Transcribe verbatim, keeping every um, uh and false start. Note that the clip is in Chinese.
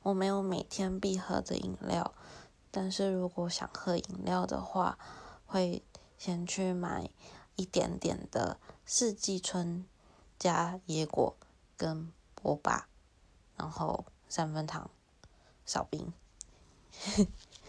我没有每天必喝的饮料，但是如果想喝饮料的话，会先去买一点点的四季春加椰果跟波霸，然后三分糖少冰。